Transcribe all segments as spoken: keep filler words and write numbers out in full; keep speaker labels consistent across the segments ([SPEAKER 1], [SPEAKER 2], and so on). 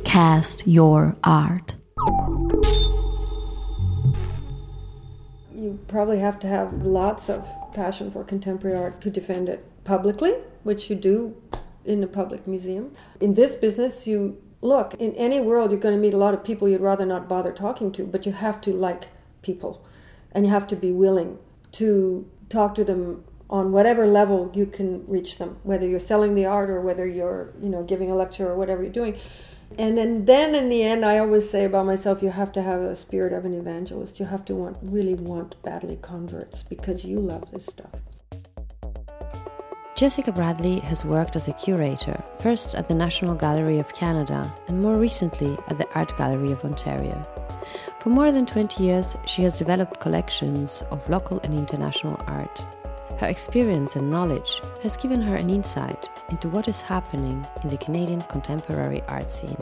[SPEAKER 1] cast your art.
[SPEAKER 2] You probably have to have lots of passion for contemporary art to defend it publicly, which you do in a public museum. In this business, you look, in any world, you're going to meet a lot of people you'd rather not bother talking to, but you have to like people, and you have to be willing to talk to them on whatever level you can reach them, whether you're selling the art or whether you're, you know, giving a lecture or whatever you're doing. And then, then in the end, I always say about myself, you have to have a spirit of an evangelist. You have to want, really want badly converts because you love this stuff.
[SPEAKER 3] Jessica Bradley has worked as a curator, first at the National Gallery of Canada and more recently at the Art Gallery of Ontario. For more than twenty years, she has developed collections of local and international art. Her experience and knowledge has given her an insight into what is happening in the Canadian contemporary art scene.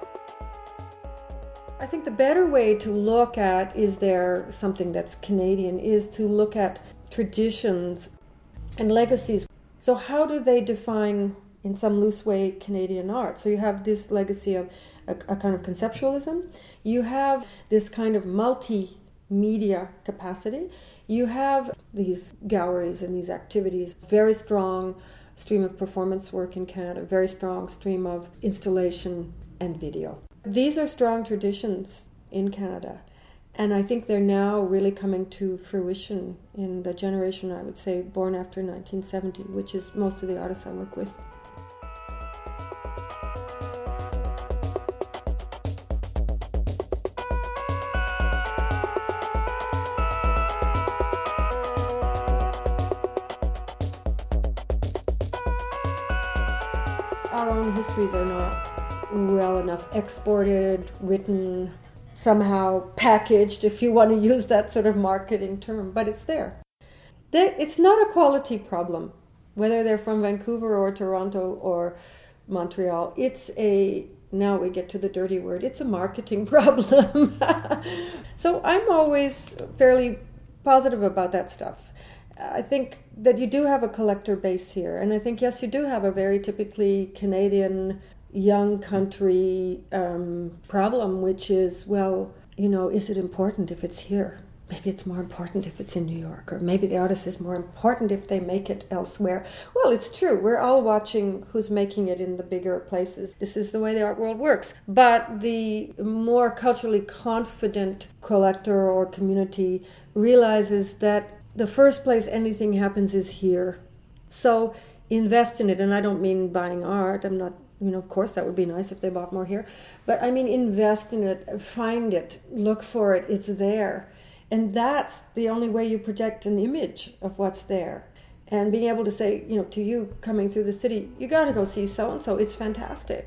[SPEAKER 2] I think the better way to look at, is there something that's Canadian, is to look at traditions and legacies. So how do they define, in some loose way, Canadian art? So you have this legacy of a, a kind of conceptualism. You have this kind of multimedia capacity. You have these galleries and these activities, very strong stream of performance work in Canada, very strong stream of installation and video. These are strong traditions in Canada, and I think they're now really coming to fruition in the generation, I would say, born after nineteen seventy, which is most of the artists I work with. Our own histories are not well enough exported, written, somehow packaged, if you want to use that sort of marketing term, but it's there. It's not a quality problem, whether they're from Vancouver or Toronto or Montreal. It's a, now we get to the dirty word, it's a marketing problem. So I'm always fairly positive about that stuff. I think that you do have a collector base here, and I think, yes, you do have a very typically Canadian young country um, problem, which is, well, you know, is it important if it's here? Maybe it's more important if it's in New York, or maybe the artist is more important if they make it elsewhere. Well, it's true. We're all watching who's making it in the bigger places. This is the way the art world works. But the more culturally confident collector or community realizes that the first place anything happens is here. So invest in it. And I don't mean buying art. I'm not, you know, of course that would be nice if they bought more here. But I mean invest in it, find it, look for it, it's there. And that's the only way you project an image of what's there. And being able to say, you know, to you coming through the city, you got to go see so-and-so, it's fantastic.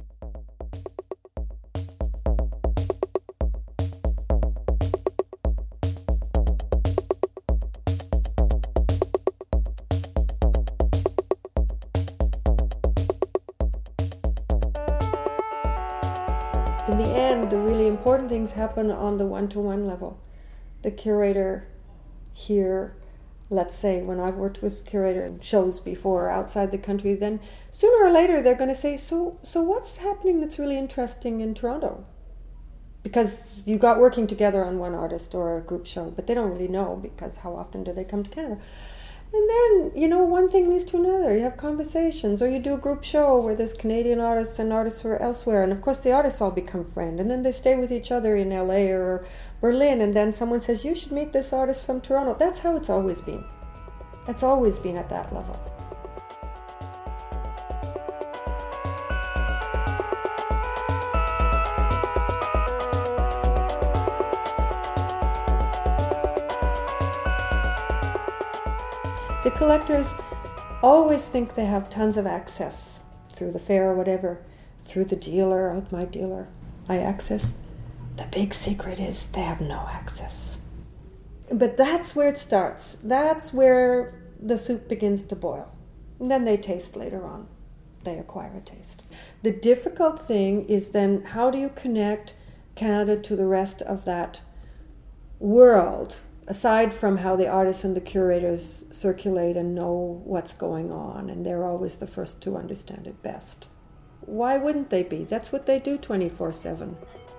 [SPEAKER 2] In the end, the really important things happen on the one-to-one level. The curator here, let's say when I've worked with curator shows before outside the country, then sooner or later they're going to say, so so what's happening that's really interesting in Toronto? Because you got working together on one artist or a group show, but they don't really know, because how often do they come to Canada? And then, you know, one thing leads to another. You have conversations, or you do a group show where there's Canadian artists and artists who are elsewhere. And of course, the artists all become friends. And then they stay with each other in L A or Berlin. And then someone says, you should meet this artist from Toronto. That's how it's always been. It's always been at that level. The collectors always think they have tons of access through the fair or whatever, through the dealer, out my dealer, I access. The big secret is they have no access. But that's where it starts. That's where the soup begins to boil. And then they taste later on. They acquire a taste. The difficult thing is then, how do you connect Canada to the rest of that world? Aside from how the artists and the curators circulate and know what's going on, and they're always the first to understand it best. Why wouldn't they be? That's what they do twenty-four seven.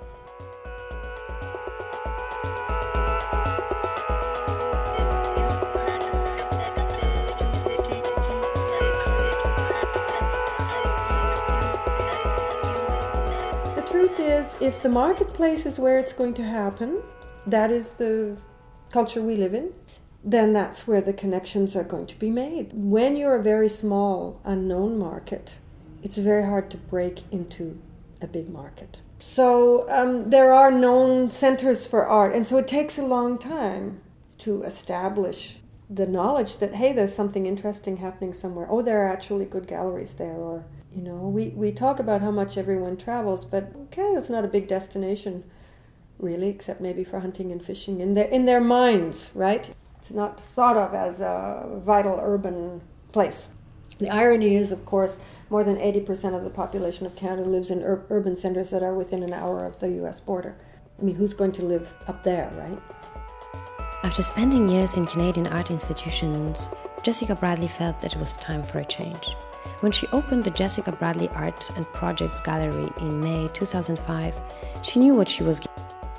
[SPEAKER 2] The truth is, if the marketplace is where it's going to happen, that is the culture we live in, then that's where the connections are going to be made. When you're a very small, unknown market, it's very hard to break into a big market. So um, there are known centers for art, and so it takes a long time to establish the knowledge that, hey, there's something interesting happening somewhere. Oh, there are actually good galleries there. Or, you know, we, we talk about how much everyone travels, but okay, it's not a big destination, really, except maybe for hunting and fishing in their, in their minds, right? It's not thought of as a vital urban place. The irony is, of course, more than eighty percent of the population of Canada lives in ur- urban centers that are within an hour of the U S border. I mean, who's going to live up there, right?
[SPEAKER 3] After spending years in Canadian art institutions, Jessica Bradley felt that it was time for a change. When she opened the Jessica Bradley Art and Projects Gallery in May two thousand five, she knew what she was getting.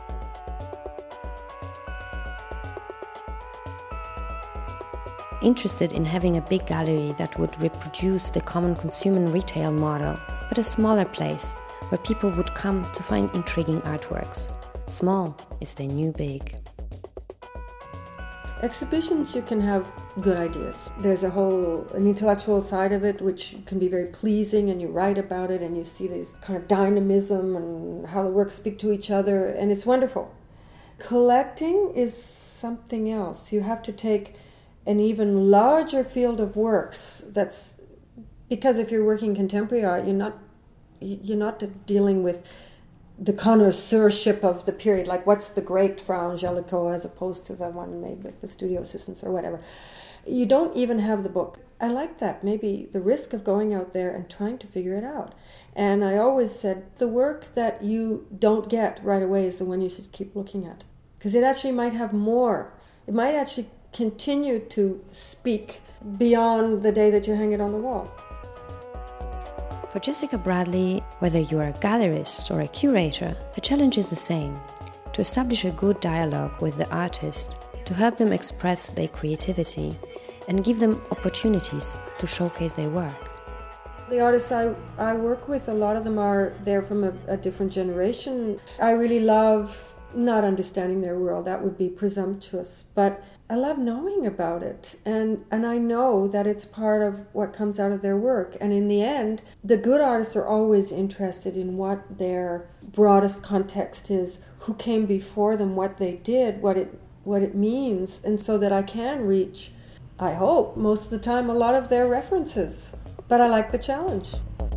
[SPEAKER 3] Interested in having a big gallery that would reproduce the common consumer retail model, but a smaller place where people would come to find intriguing artworks. Small is the new big.
[SPEAKER 2] Exhibitions, you can have good ideas. There's a whole an intellectual side of it which can be very pleasing, and you write about it and you see this kind of dynamism and how the works speak to each other, and it's wonderful. Collecting is something else. You have to take an even larger field of works. That's because if you're working contemporary art, you're not you're not dealing with the connoisseurship of the period, like what's the great Fra Angelico as opposed to the one made with the studio assistants or whatever. You don't even have the book. I like that, maybe the risk of going out there and trying to figure it out. And I always said the work that you don't get right away is the one you should keep looking at, because it actually might have more. It might actually continue to speak beyond the day that you hang it on the wall.
[SPEAKER 3] For Jessica Bradley, whether you are a gallerist or a curator, the challenge is the same: to establish a good dialogue with the artist, to help them express their creativity and give them opportunities to showcase their work.
[SPEAKER 2] The artists I, I work with, a lot of them are there from a, a different generation. I really love not understanding their world. That would be presumptuous, but I love knowing about it, and, and I know that it's part of what comes out of their work. And in the end, the good artists are always interested in what their broadest context is, who came before them, what they did, what it what it means, and so that I can reach, I hope, most of the time, a lot of their references. But I like the challenge.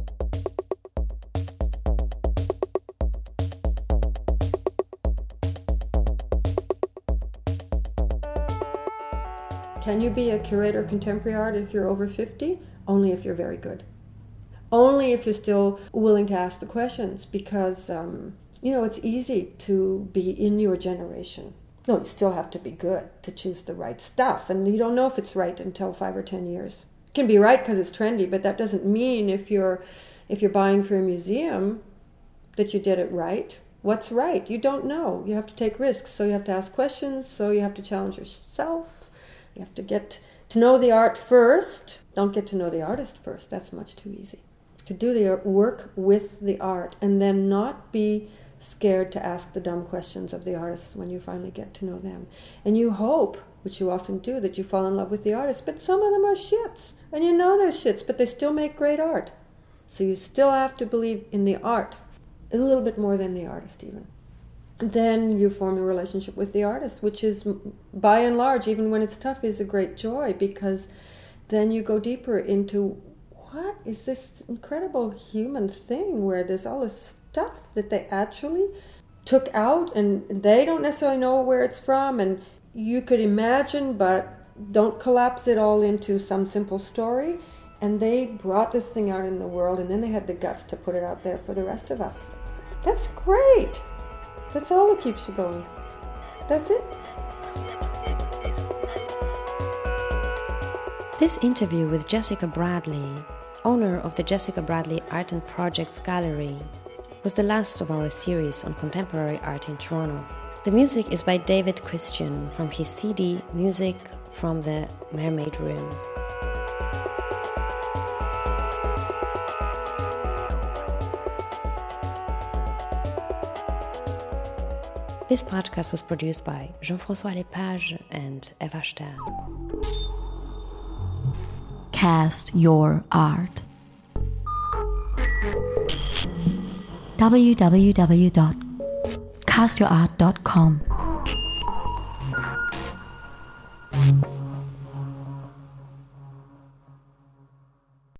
[SPEAKER 2] Can you be a curator of contemporary art if you're over fifty? Only if you're very good. Only if you're still willing to ask the questions, because, um, you know, it's easy to be in your generation. No, you still have to be good to choose the right stuff, and you don't know if it's right until five or ten years. It can be right because it's trendy, but that doesn't mean if you're if you're buying for a museum that you did it right. What's right? You don't know. You have to take risks, so you have to ask questions, so you have to challenge yourself. You have to get to know the art first. Don't get to know the artist first. That's much too easy. To do the work with the art and then not be scared to ask the dumb questions of the artists when you finally get to know them. And you hope, which you often do, that you fall in love with the artist, but some of them are shits. And you know they're shits, but they still make great art. So you still have to believe in the art, a little bit more than the artist even. Then you form a relationship with the artist, which is, by and large, even when it's tough, is a great joy, because then you go deeper into what is this incredible human thing where there's all this stuff that they actually took out and they don't necessarily know where it's from, and you could imagine, but don't collapse it all into some simple story. And they brought this thing out in the world, and then they had the guts to put it out there for the rest of us. That's great. That's all that keeps you going. That's it.
[SPEAKER 3] This interview with Jessica Bradley owner of the Jessica Bradley Art and Projects Gallery, was the last of our series on contemporary art in Toronto. The music is by David Christian from his C D Music from the Mermaid Room. This podcast was produced by Jean-François Lepage and Eva Stern.
[SPEAKER 1] Cast your art. w w w dot cast your art dot com